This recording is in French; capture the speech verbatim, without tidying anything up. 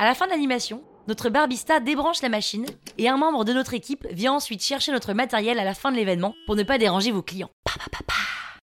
À la fin de l'animation, notre barbista débranche la machine et un membre de notre équipe vient ensuite chercher notre matériel à la fin de l'événement pour ne pas déranger vos clients. Pa, pa, pa, pa.